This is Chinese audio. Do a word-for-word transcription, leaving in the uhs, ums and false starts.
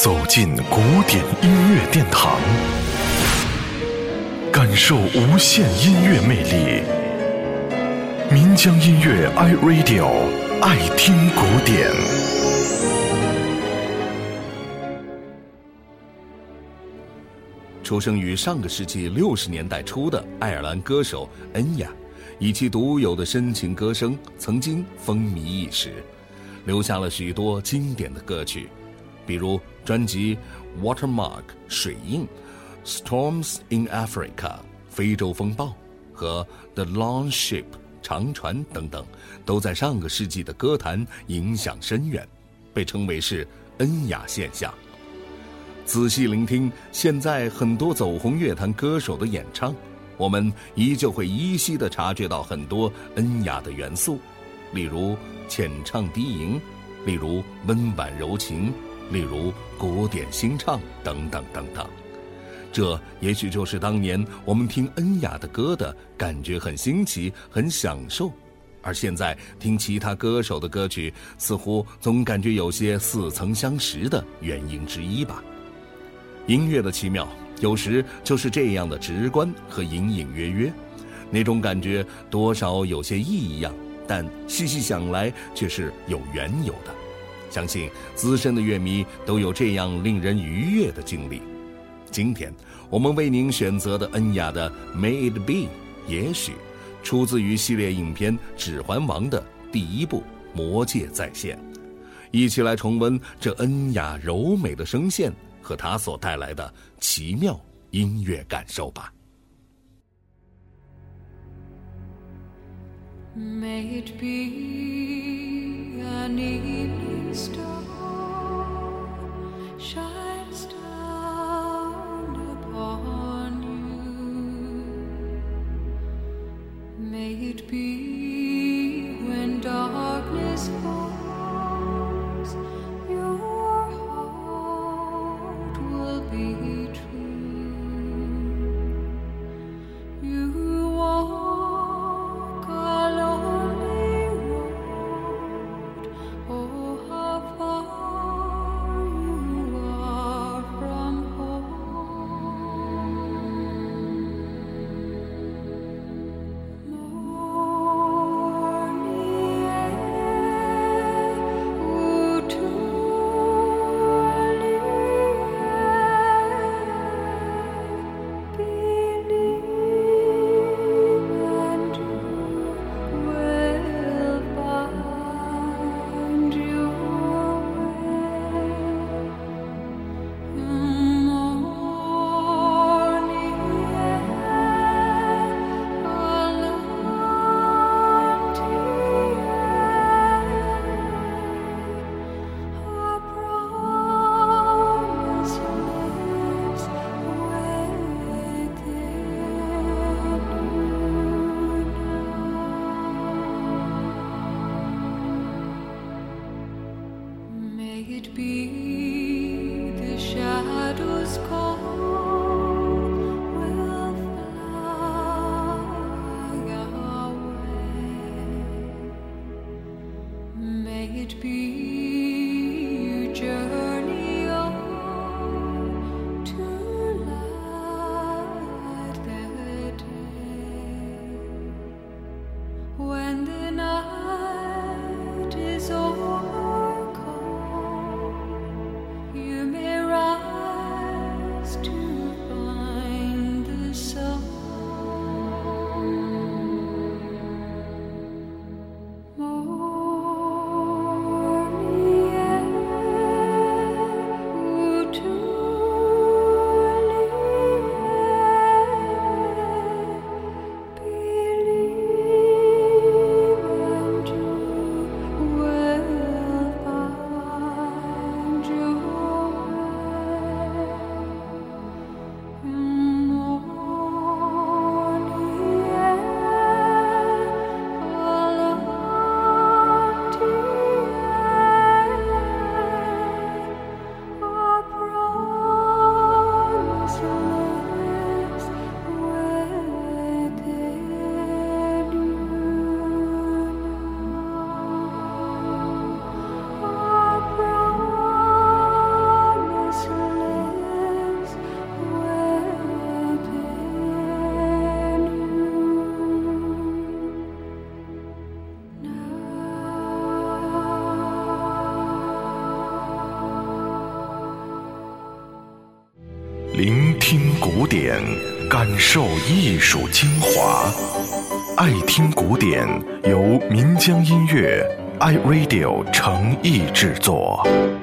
走进古典音乐殿堂，感受无限音乐魅力。民江音乐 iRadio， 爱听古典。 出生于上个世纪六十年代初的爱尔兰歌手恩雅，以其独有的深情歌声曾经风靡一时，留下了许多经典的歌曲，比如专辑 Watermark 水印、 Storms in Africa 非洲风暴和 The Long Ship 长船等等，都在上个世纪的歌坛影响深远，被称为是恩雅现象。仔细聆听现在很多走红乐坛歌手的演唱，我们依旧会依稀地察觉到很多恩雅的元素，例如浅唱低吟，例如温婉柔情，例如古典新唱等等等等。这也许就是当年我们听恩雅的歌的感觉很新奇，很享受，而现在听其他歌手的歌曲，似乎总感觉有些似曾相识的原因之一吧。音乐的奇妙有时就是这样的直观和隐隐约约，那种感觉多少有些异样，但细细想来却是有缘由的。相信资深的乐迷都有这样令人愉悦的经历。今天我们为您选择的恩雅的 May It Be， 也许出自于系列影片《指环王》的第一部《魔戒再现》，一起来重温这恩雅柔美的声线和它所带来的奇妙音乐感受吧。 May it be an evening star shines down upon you. May it be when darkness falls, your heart will be true. You walk a lonely road, oh how far you are from home. Morning air, oh truly believe and you will find your way. Morning air, a empty air, a promise lives within you. May it be the shadows call will fly away. May it be you journey on to light the day. When the night is overcome, you may rise 聆听古典，感受艺术精华。爱听古典由岷江音乐 iRadio 诚意制作。